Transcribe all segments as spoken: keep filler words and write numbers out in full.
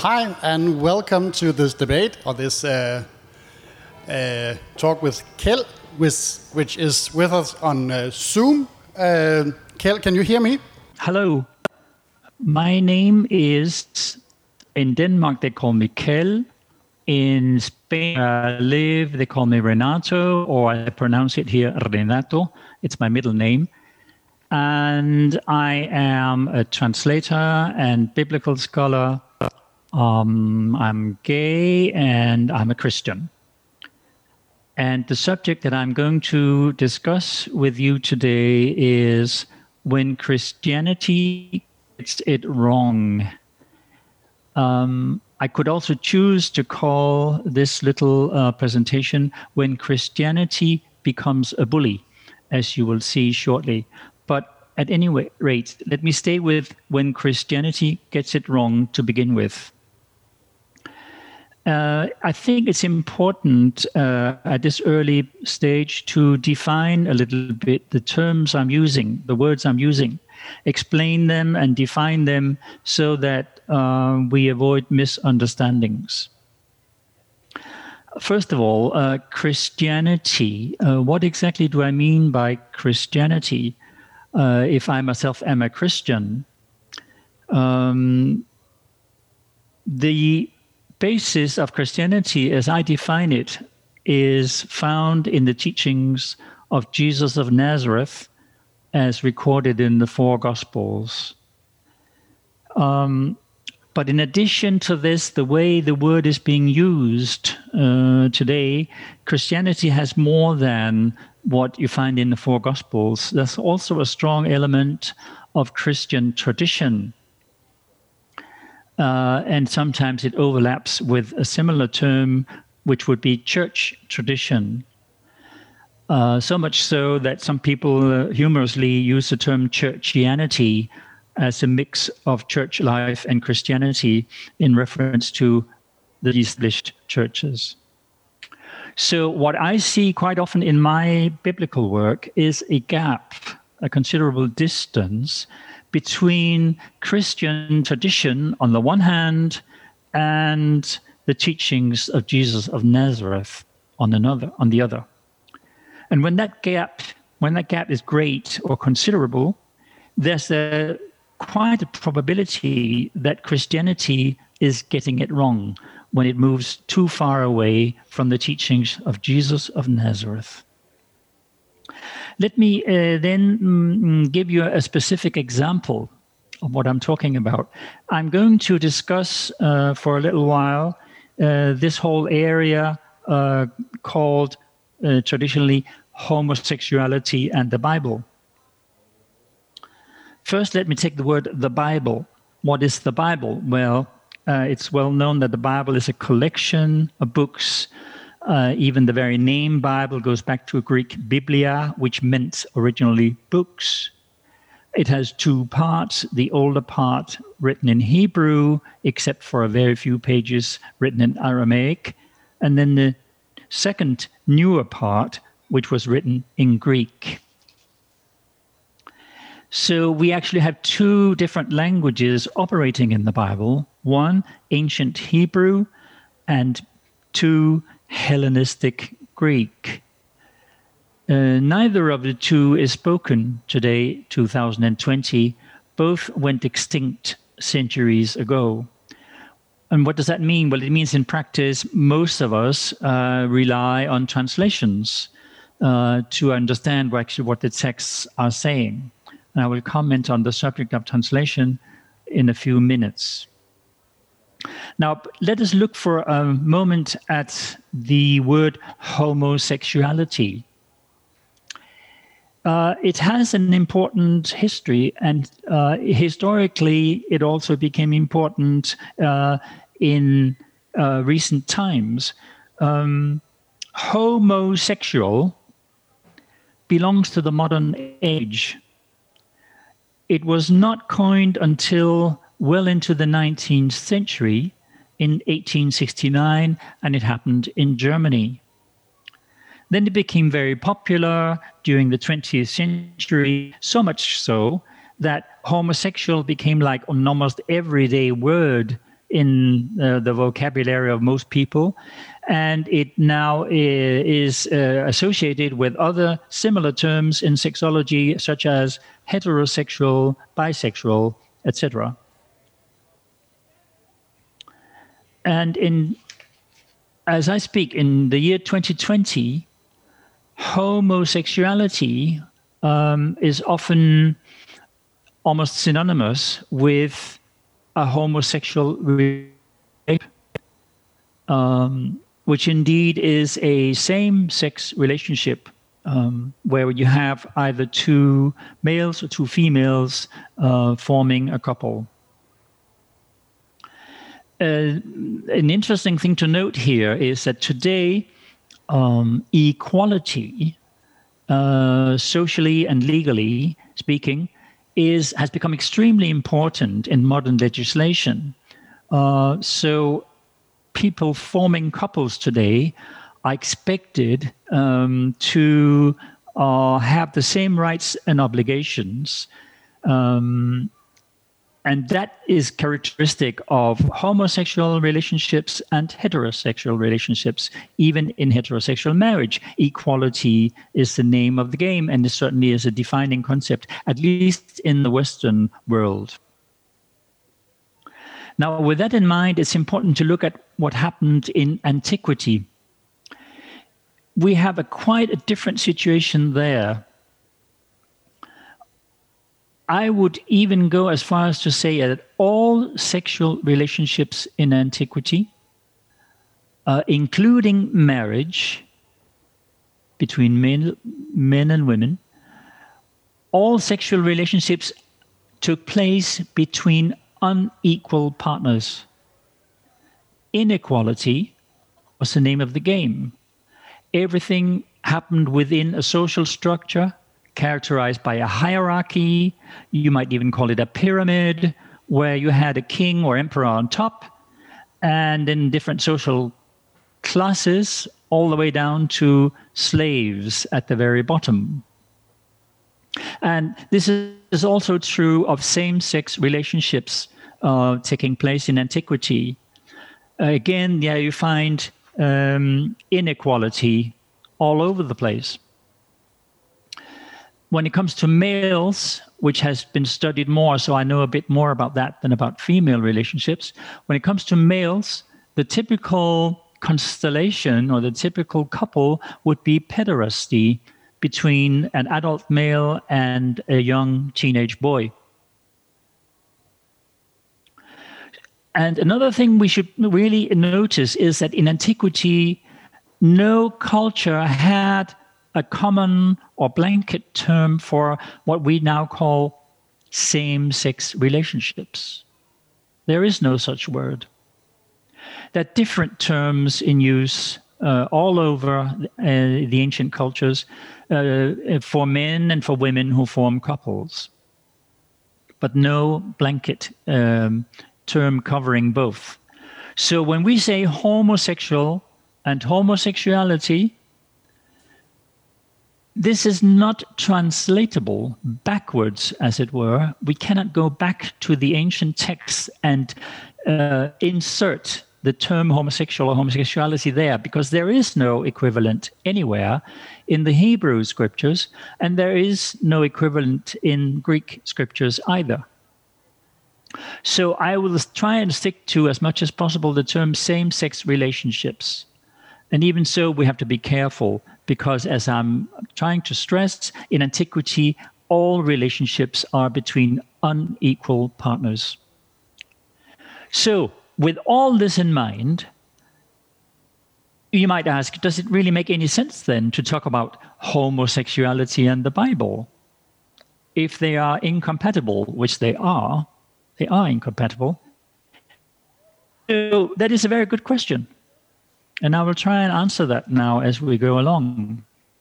hi, and welcome to this debate, or this uh, uh, talk with Kjeld, with, which is with us on uh, Zoom. Uh, Kjeld, can you hear me? Hello. My name is, in Denmark, they call me Kjeld. In Spain, where I live, they call me Renato, or I pronounce it here Renato. It's my middle name. And I am a translator and biblical scholar. Um, I'm gay and I'm a Christian. And the subject that I'm going to discuss with you today is when Christianity gets it wrong. Um, I could also choose to call this little uh, presentation When Christianity Becomes a Bully, as you will see shortly. But at any rate, let me stay with When Christianity Gets It Wrong to begin with. Uh, I think it's important uh, at this early stage to define a little bit the terms I'm using, the words I'm using, explain them and define them so that uh, we avoid misunderstandings. First of all, uh, Christianity. Uh, what exactly do I mean by Christianity? Uh, if I myself am a Christian, um, the basis of Christianity, as I define it, is found in the teachings of Jesus of Nazareth, as recorded in the four Gospels. Um, but in addition to this, the way the word is being used uh, today, Christianity has more than what you find in the four Gospels. There's also a strong element of Christian tradition. Uh, and sometimes it overlaps with a similar term, which would be church tradition. Uh, so much so that some people uh, humorously use the term churchianity as a mix of church life and Christianity in reference to the established churches. So what I see quite often in my biblical work is a gap, a considerable distance between Christian tradition on the one hand and the teachings of Jesus of Nazareth on another, on the other. And when that gap, when that gap is great or considerable, there's a quite a probability that Christianity is getting it wrong when it moves too far away from the teachings of Jesus of Nazareth. Let me uh, then mm, give you a specific example of what I'm talking about. I'm going to discuss uh, for a little while uh, this whole area uh, called uh, traditionally homosexuality and the Bible. First, let me take the word the Bible. What is the Bible? Well, uh, it's well known that the Bible is a collection of books. Uh, even the very name Bible goes back to Greek biblia, which meant originally books. It has two parts, the older part written in Hebrew, except for a very few pages written in Aramaic, and then the second, newer part, which was written in Greek. So we actually have two different languages operating in the Bible. One, ancient Hebrew, and two, Hellenistic Greek. Uh, neither of the two is spoken today, two thousand twenty. Both went extinct centuries ago. And what does that mean? Well, it means in practice, most of us uh, rely on translations uh, to understand actually what the texts are saying. And I will comment on the subject of translation in a few minutes. Now, let us look for a moment at the word homosexuality. Uh, it has an important history, and uh, historically, it also became important uh, in uh, recent times. Um, homosexual belongs to the modern age. It was not coined until well into the nineteenth century, in eighteen sixty-nine, and it happened in Germany. Then it became very popular during the twentieth century, so much so that homosexual became like an almost everyday word in uh, the vocabulary of most people, and it now is uh, associated with other similar terms in sexology, such as heterosexual, bisexual, et cetera. And in, as I speak, in the year twenty twenty, homosexuality um, is often almost synonymous with a homosexual relationship, um, which indeed is a same-sex relationship um, where you have either two males or two females uh, forming a couple. Uh, an interesting thing to note here is that today, um, equality, uh, socially and legally speaking, is has become extremely important in modern legislation. Uh, so people forming couples today are expected um, to uh, have the same rights and obligations. Um, and that is characteristic of homosexual relationships and heterosexual relationships, even in heterosexual marriage. Equality is the name of the game, and it certainly is a defining concept, at least in the Western world. Now, with that in mind, it's important to look at what happened in antiquity. We have a quite a different situation there. I would even go as far as to say that all sexual relationships in antiquity, uh, including marriage between men, men and women, all sexual relationships took place between unequal partners. Inequality was the name of the game. Everything happened within a social structure characterized by a hierarchy. You might even call it a pyramid, where you had a king or emperor on top, and in different social classes, all the way down to slaves at the very bottom. And this is also true of same-sex relationships uh, taking place in antiquity. Uh, again, yeah, you find um, inequality all over the place. When it comes to males, which has been studied more, so I know a bit more about that than about female relationships. When it comes to males, the typical constellation or the typical couple would be pederasty between an adult male and a young teenage boy. And another thing we should really notice is that in antiquity, no culture had a common or blanket term for what we now call same-sex relationships. There is no such word. There are different terms in use uh, all over uh, the ancient cultures uh, for men and for women who form couples, but no blanket um, term covering both. So when we say homosexual and homosexuality, this is not translatable backwards, as it were. We cannot go back to the ancient texts and uh, insert the term homosexual or homosexuality there, because there is no equivalent anywhere in the Hebrew scriptures, and there is no equivalent in Greek scriptures either. So I will try and stick to, as much as possible, the term same-sex relationships. And even so, we have to be careful, because as I'm trying to stress, in antiquity, all relationships are between unequal partners. So, with all this in mind, you might ask, does it really make any sense then to talk about homosexuality and the Bible? If they are incompatible, which they are, they are incompatible. So that is a very good question. And I will try and answer that now as we go along.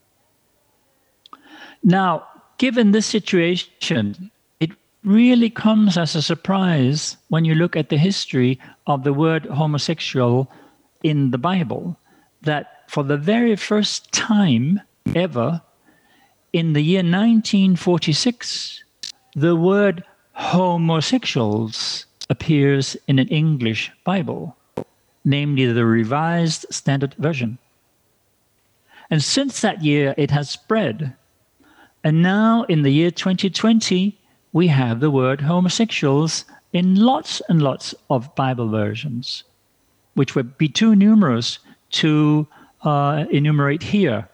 Now, given this situation, it really comes as a surprise when you look at the history of the word homosexual in the Bible, that for the very first time ever, in the year nineteen forty-six, the word homosexuals appears in an English Bible, namely the Revised Standard Version. And since that year, it has spread. And now, in the year twenty twenty, we have the word homosexuals in lots and lots of Bible versions, which would be too numerous to uh, enumerate here.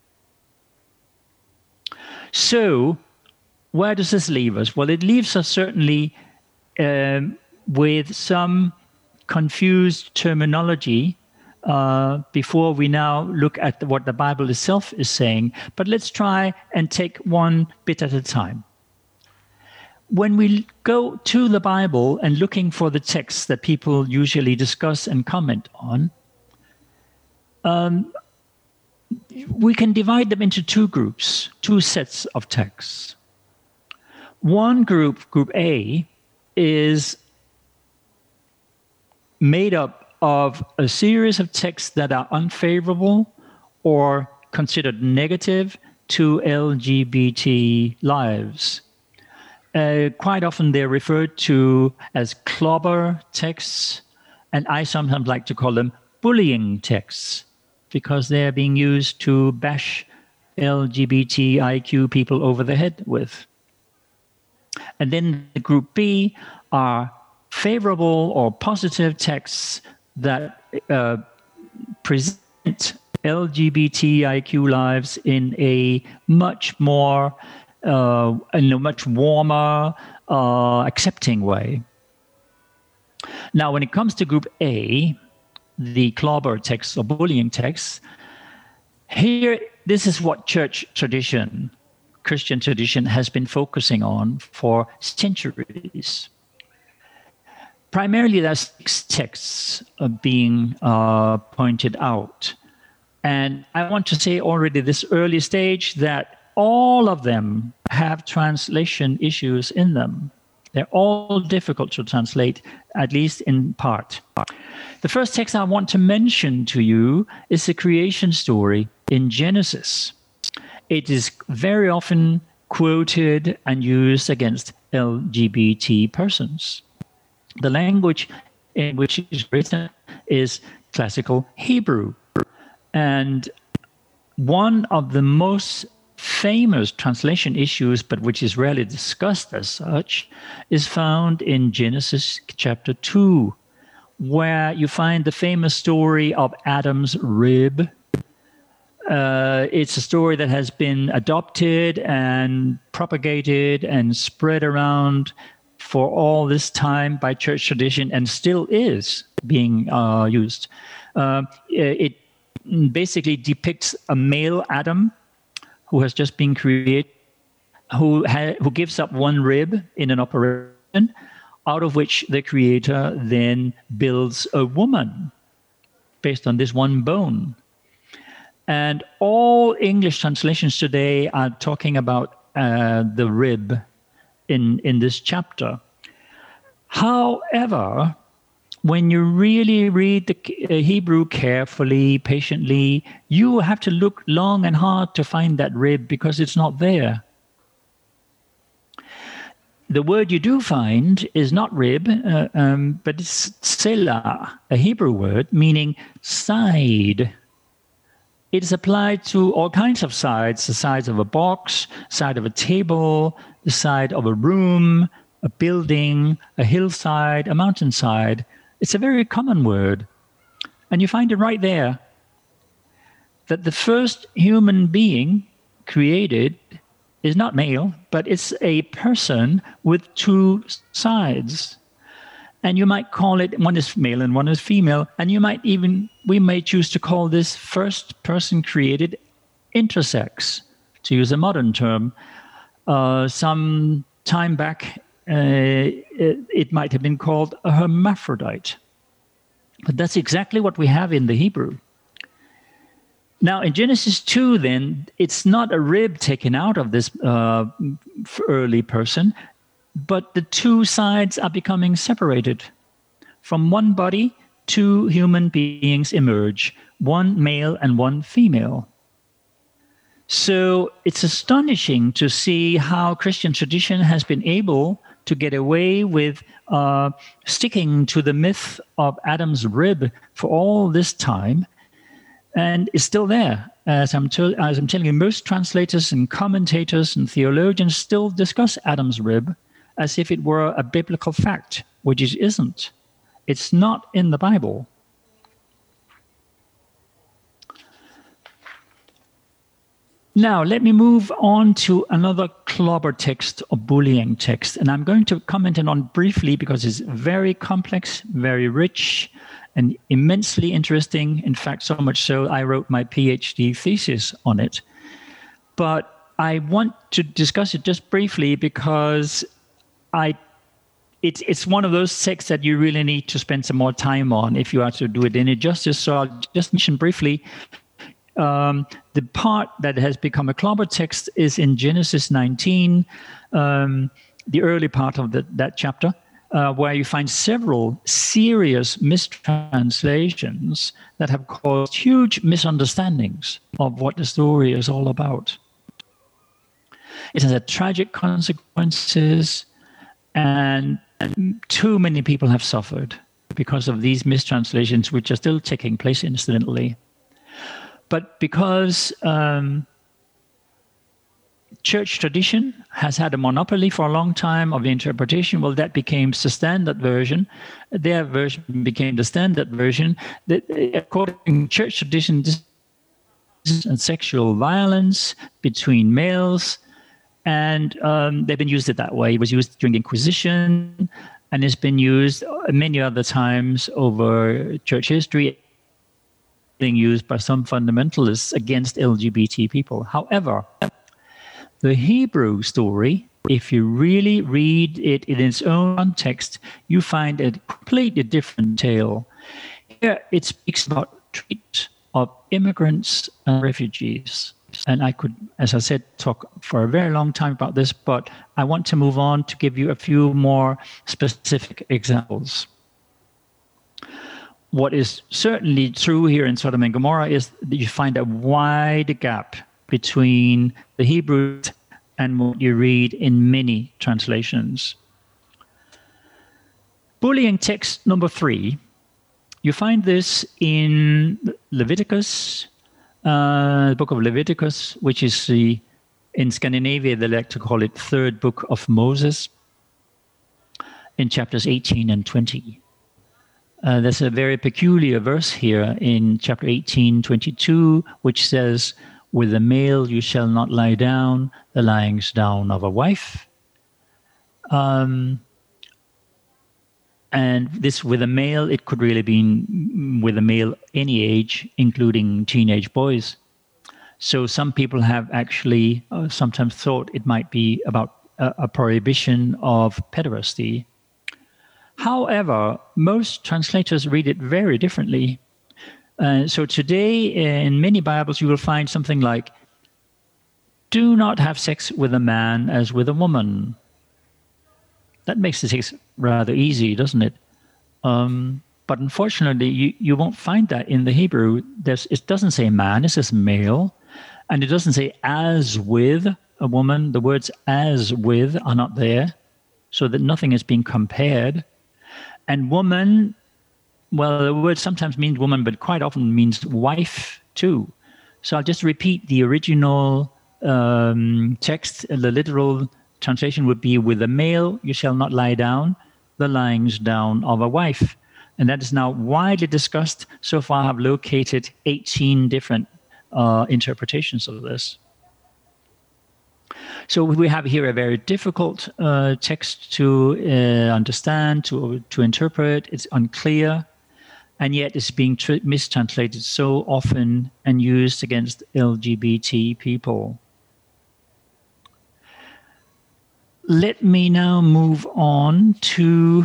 So, where does this leave us? Well, it leaves us certainly um, with some confused terminology uh, before we now look at what the Bible itself is saying. But let's try and take one bit at a time. When we go to the Bible and looking for the texts that people usually discuss and comment on, um, we can divide them into two groups, two sets of texts. One group, Group A, is made up of a series of texts that are unfavorable or considered negative to L G B T lives. Uh, quite often they're referred to as clobber texts, and I sometimes like to call them bullying texts, because they're being used to bash L G B T I Q people over the head with. And then the Group B are favorable or positive texts that uh, present L G B T I Q lives in a much more, uh, in a much warmer, uh, accepting way. Now, when it comes to Group A, the clobber texts or bullying texts, here, this is what church tradition, Christian tradition, has been focusing on for centuries. Primarily, there's six texts uh, being uh, pointed out. And I want to say already this early stage that all of them have translation issues in them. They're all difficult to translate, at least in part. The first text I want to mention to you is the creation story in Genesis. It is very often quoted and used against L G B T persons. The language in which it is written is classical Hebrew. And one of the most famous translation issues, but which is rarely discussed as such, is found in Genesis chapter two, where you find the famous story of Adam's rib. Uh, it's a story that has been adopted and propagated and spread around for all this time by church tradition, and still is being uh, used. Uh, it basically depicts a male Adam who has just been created, who ha- who gives up one rib in an operation, out of which the Creator then builds a woman based on this one bone. And all English translations today are talking about uh, the rib in, in this chapter. However, when you really read the Hebrew carefully, patiently, you have to look long and hard to find that rib, because it's not there. The word you do find is not rib, uh, um, but it's selah, a Hebrew word meaning side. It is applied to all kinds of sides: the sides of a box, side of a table, the side of a room, a building, a hillside, a mountainside. It's a very common word. And you find it right there, that the first human being created is not male, but it's a person with two sides. And you might call it, one is male and one is female, and you might even, we may choose to call this first person created intersex, to use a modern term. Uh, some time back, uh, it, it might have been called a hermaphrodite. But that's exactly what we have in the Hebrew. Now, in Genesis two, then, it's not a rib taken out of this uh, early person, but the two sides are becoming separated. From one body, two human beings emerge, one male and one female. So it's astonishing to see how Christian tradition has been able to get away with uh, sticking to the myth of Adam's rib for all this time, and it's still there. As I'm, to- as I'm telling you, most translators and commentators and theologians still discuss Adam's rib as if it were a biblical fact, which it isn't. It's not in the Bible. Now, let me move on to another clobber text or bullying text. And I'm going to comment on briefly because it's very complex, very rich, and immensely interesting. In fact, so much so, I wrote my PhD thesis on it. But I want to discuss it just briefly because I, it's, it's one of those texts that you really need to spend some more time on if you are to do it any justice. So I'll just mention briefly. Um, the part that has become a clobber text is in Genesis nineteen, um, the early part of the, that chapter, uh, where you find several serious mistranslations that have caused huge misunderstandings of what the story is all about. It has had tragic consequences, and too many people have suffered because of these mistranslations, which are still taking place incidentally. But because um, church tradition has had a monopoly for a long time of the interpretation, well, that became the standard version. Their version became the standard version. That, according to church tradition, this is sexual violence between males, and um, they've been used it that way. It was used during the Inquisition, and it's been used many other times over church history, being used by some fundamentalists against L G B T people. However, the Hebrew story, if you really read it in its own context, you find a completely different tale. Here it speaks about treatment of immigrants and refugees. And I could, as I said, talk for a very long time about this, but I want to move on to give you a few more specific examples. What is certainly true here in Sodom and Gomorrah is that you find a wide gap between the Hebrew and what you read in many translations. Bullying text number three, you find this in Leviticus, uh, the book of Leviticus, which is the, in Scandinavia, they like to call it third book of Moses, in chapters eighteen and twenty. Uh, there's a very peculiar verse here in chapter eighteen, twenty-two, which says, with a male you shall not lie down, the lyings down of a wife. Um, and this with a male, it could really be with a male any age, including teenage boys. So some people have actually uh, sometimes thought it might be about a, a prohibition of pederasty. However, most translators read it very differently. Uh, so today, in many Bibles, you will find something like, do not have sex with a man as with a woman. That makes the text rather easy, doesn't it? Um, but unfortunately, you, you won't find that in the Hebrew. There's, it doesn't say man, it says male. And it doesn't say as with a woman. The words as with are not there, so that nothing is being compared. And woman, well, the word sometimes means woman, but quite often means wife too. So I'll just repeat the original um, text. The literal translation would be, with a male you shall not lie down, the lyings down of a wife. And that is now widely discussed. So far I've located eighteen different uh, interpretations of this. So we have here a very difficult uh, text to uh, understand, to to interpret. It's unclear, and yet it's being tr- mistranslated so often and used against L G B T people. Let me now move on to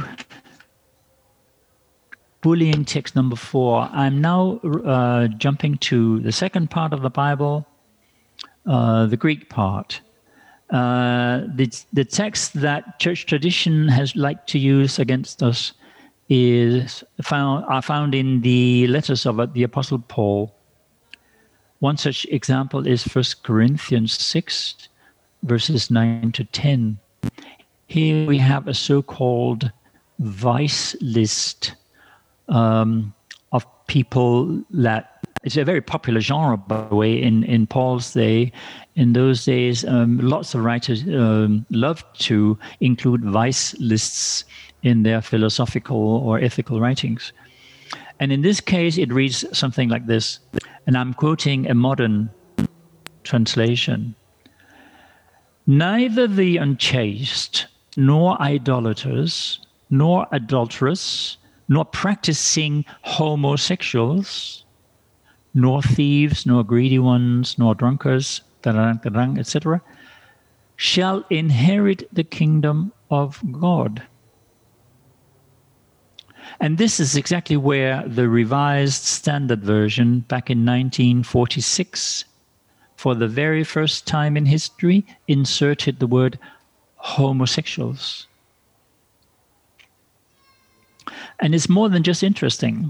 bullying text number four. I'm now uh, jumping to the second part of the Bible, uh, the Greek part. Uh, the, the text that church tradition has liked to use against us is found are found in the letters of the Apostle Paul. One such example is First Corinthians six, verses nine to ten. Here we have a so-called vice list um, of people that, it's a very popular genre, by the way, in, in Paul's day. In those days, um, lots of writers um, loved to include vice lists in their philosophical or ethical writings. And in this case, it reads something like this, and I'm quoting a modern translation. Neither the unchaste, nor idolaters, nor adulterers, nor practicing homosexuals, nor thieves, nor greedy ones, nor drunkards, et cetera, shall inherit the kingdom of God. And this is exactly where the Revised Standard Version back in nineteen forty-six, for the very first time in history, inserted the word homosexuals. And it's more than just interesting.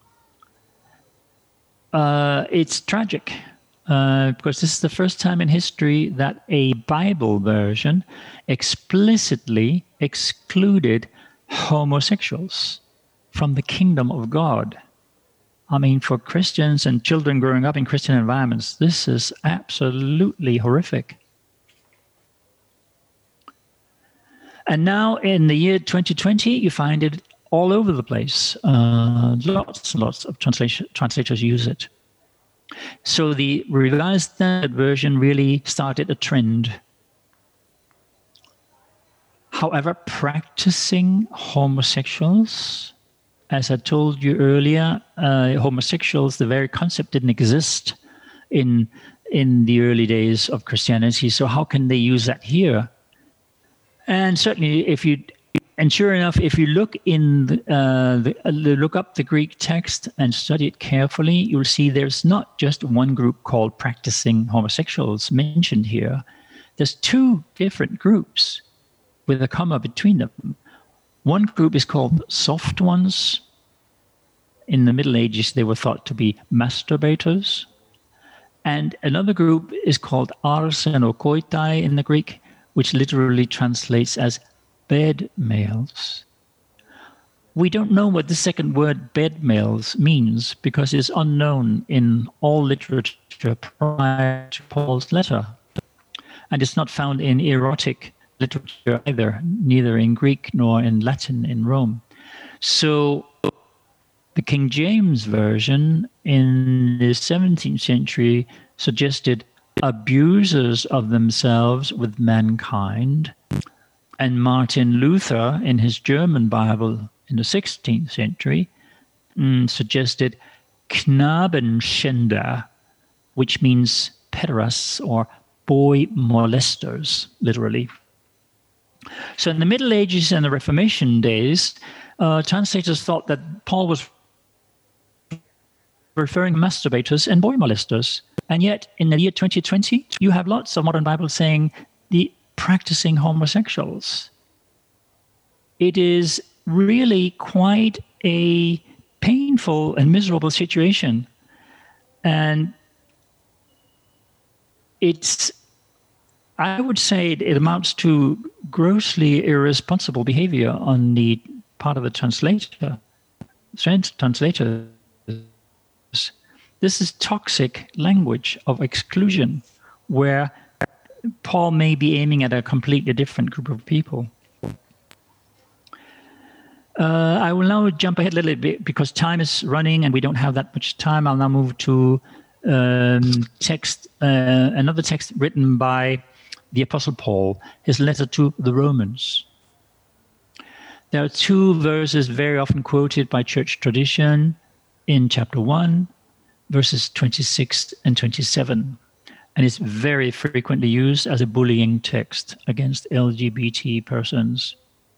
Uh, it's tragic, uh, because this is the first time in history that a Bible version explicitly excluded homosexuals from the kingdom of God. I mean, for Christians and children growing up in Christian environments, this is absolutely horrific. And now in the year twenty twenty, you find it all over the place. Uh, lots and lots of translation, translators use it. So the Revised Standard Version really started a trend. However, practicing homosexuals, as I told you earlier, uh, homosexuals, the very concept didn't exist in, in the early days of Christianity. So how can they use that here? And certainly, if you, and sure enough, if you look in, the, uh, the, uh, look up the Greek text and study it carefully, you'll see there's not just one group called practicing homosexuals mentioned here. There's two different groups with a comma between them. One group is called soft ones. In the Middle Ages, they were thought to be masturbators. And another group is called arsenokoitai in the Greek, which literally translates as bed males. We don't know what the second word bed males means because it's unknown in all literature prior to Paul's letter. And it's not found in erotic literature either, neither in Greek nor in Latin in Rome. So the King James Version in the seventeenth century suggested abusers of themselves with mankind. And Martin Luther, in his German Bible in the sixteenth century, mm, suggested Knabenschänder, which means pederasts or boy molesters, literally. So in the Middle Ages and the Reformation days, uh, translators thought that Paul was referring to masturbators and boy molesters. And yet, in the year twenty twenty, you have lots of modern Bibles saying the practicing homosexuals. It is really quite a painful and miserable situation. And it's, I would say it amounts to grossly irresponsible behavior on the part of the translator, translators. This is toxic language of exclusion, where Paul may be aiming at a completely different group of people. Uh, I will now jump ahead a little bit because time is running and we don't have that much time. I'll now move to um, text, uh, another text written by the Apostle Paul, his letter to the Romans. There are two verses very often quoted by church tradition in chapter one, verses twenty-six and twenty-seven. And it's very frequently used as a bullying text against L G B T persons.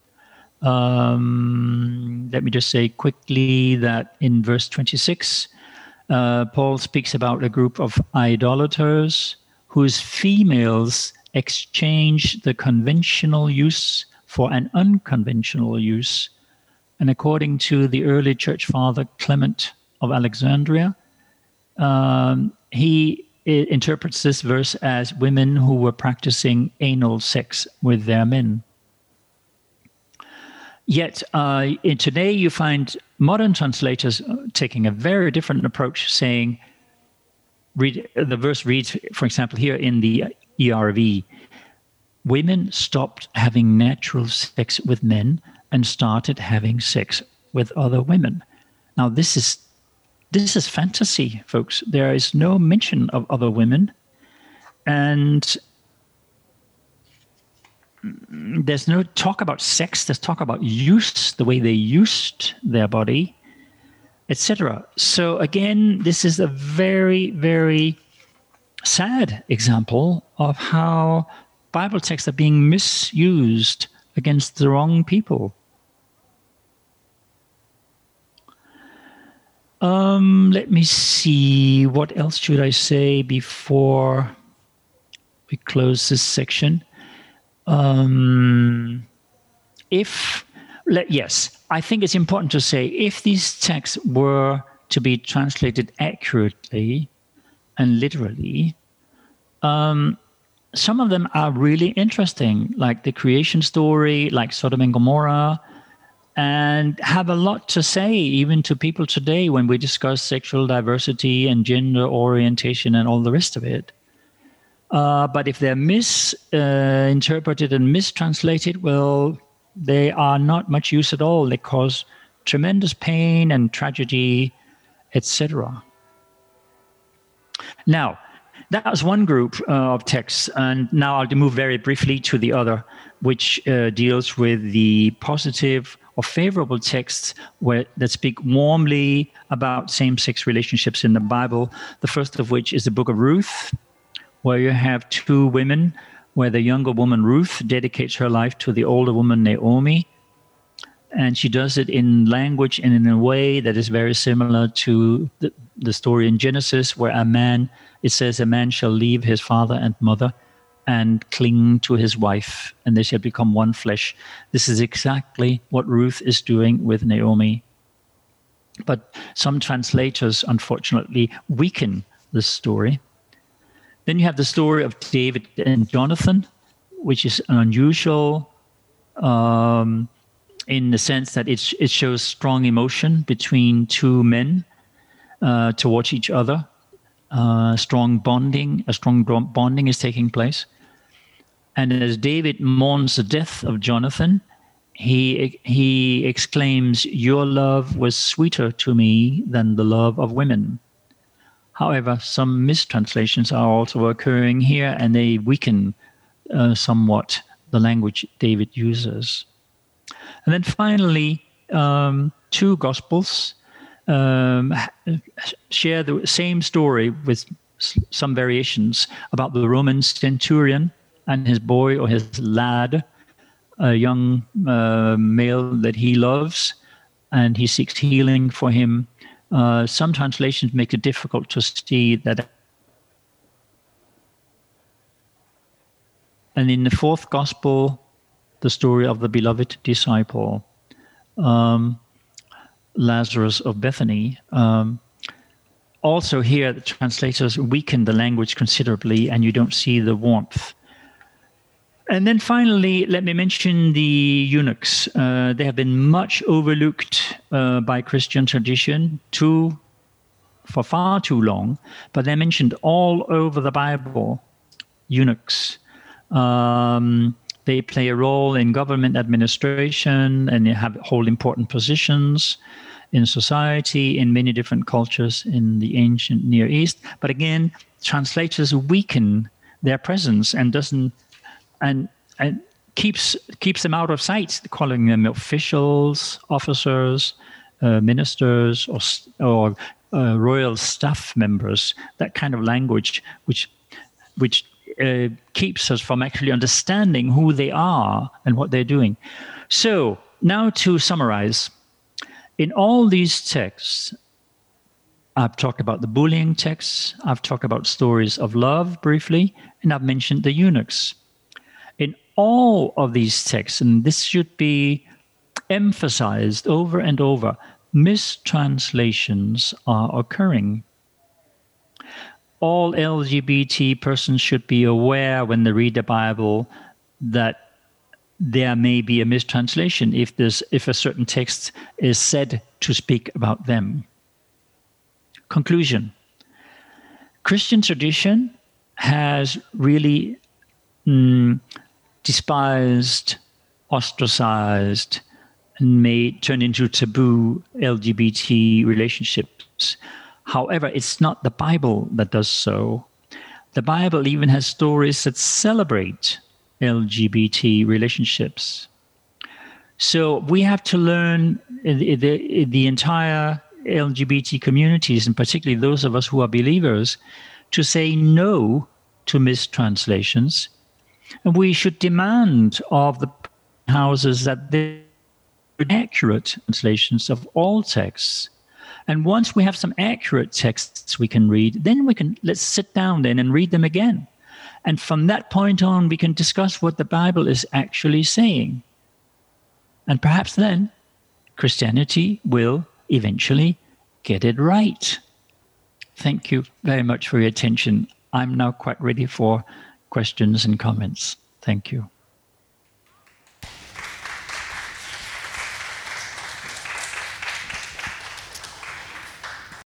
Um, let me just say quickly that in verse twenty-six, uh, Paul speaks about a group of idolaters whose females exchange the conventional use for an unconventional use. And according to the early church father Clement of Alexandria, um, he It interprets this verse as women who were practicing anal sex with their men. Yet, uh, in today you find modern translators taking a very different approach, saying, read, the verse reads, for example, here in the E R V, women stopped having natural sex with men and started having sex with other women. Now, this is this is fantasy, folks. There is no mention of other women, and there's no talk about sex. There's talk about use, the way they used their body, et cetera. So again, this is a very, very sad example of how Bible texts are being misused against the wrong people. Um, let me see. What else should I say before we close this section? Um, if, let, yes, I think it's important to say, if these texts were to be translated accurately and literally, um, some of them are really interesting, like the creation story, like Sodom and Gomorrah, and have a lot to say even to people today when we discuss sexual diversity and gender orientation and all the rest of it. Uh, but if they're misinterpreted uh, and mistranslated, well, they are not much use at all. They cause tremendous pain and tragedy, et cetera. Now, that was one group uh, of texts, and now I'll move very briefly to the other, which uh, deals with the positive or favorable texts where, that speak warmly about same-sex relationships in the Bible. The first of which is the book of Ruth, where you have two women, where the younger woman, Ruth, dedicates her life to the older woman, Naomi. And she does it in language and in a way that is very similar to the, the story in Genesis, where a man, it says, a man shall leave his father and mother and cling to his wife, and they shall become one flesh. This is exactly what Ruth is doing with Naomi. But some translators, unfortunately, weaken this story. Then you have the story of David and Jonathan, which is unusual um, in the sense that it, it shows strong emotion between two men uh, towards each other. Uh, strong bonding, a strong bonding is taking place. And as David mourns the death of Jonathan, he he exclaims, "Your love was sweeter to me than the love of women." However, some mistranslations are also occurring here, and they weaken uh, somewhat the language David uses. And then finally, um, two Gospels um, share the same story with some variations about the Roman centurion and his boy or his lad, a young uh, male that he loves, and he seeks healing for him. Uh, some translations make it difficult to see that. And in the fourth gospel, the story of the beloved disciple, um, Lazarus of Bethany. Um, also here, the translators weaken the language considerably, and you don't see the warmth. And then finally, let me mention the eunuchs. Uh, they have been much overlooked uh, by Christian tradition too, for far too long, but they're mentioned all over the Bible, eunuchs. Um, they play a role in government administration, and they have hold important positions in society in many different cultures in the ancient Near East. But again, translators weaken their presence and doesn't and and keeps keeps them out of sight, calling them officials, officers, uh, ministers, or or uh, royal staff members. That kind of language, which which uh, keeps us from actually understanding who they are and what they're doing. So now to summarize, in all these texts, I've talked about the bullying texts, I've talked about stories of love briefly, and I've mentioned the eunuchs. In all of these texts, and this should be emphasized over and over, mistranslations are occurring. All L G B T persons should be aware when they read the Bible that there may be a mistranslation if there's if a certain text is said to speak about them. Conclusion. Christian tradition has really mm, despised, ostracized, and made turned into taboo L G B T relationships. However, it's not the Bible that does so. The Bible even has stories that celebrate L G B T relationships. So we have to learn the, the, the entire L G B T communities, and particularly those of us who are believers, to say no to mistranslations. And we should demand of the houses that they are accurate translations of all texts. And once we have some accurate texts we can read, then we can, let's sit down then and read them again. And from that point on, we can discuss what the Bible is actually saying. And perhaps then Christianity will eventually get it right. Thank you very much for your attention. I'm now quite ready for questions and comments. Thank you.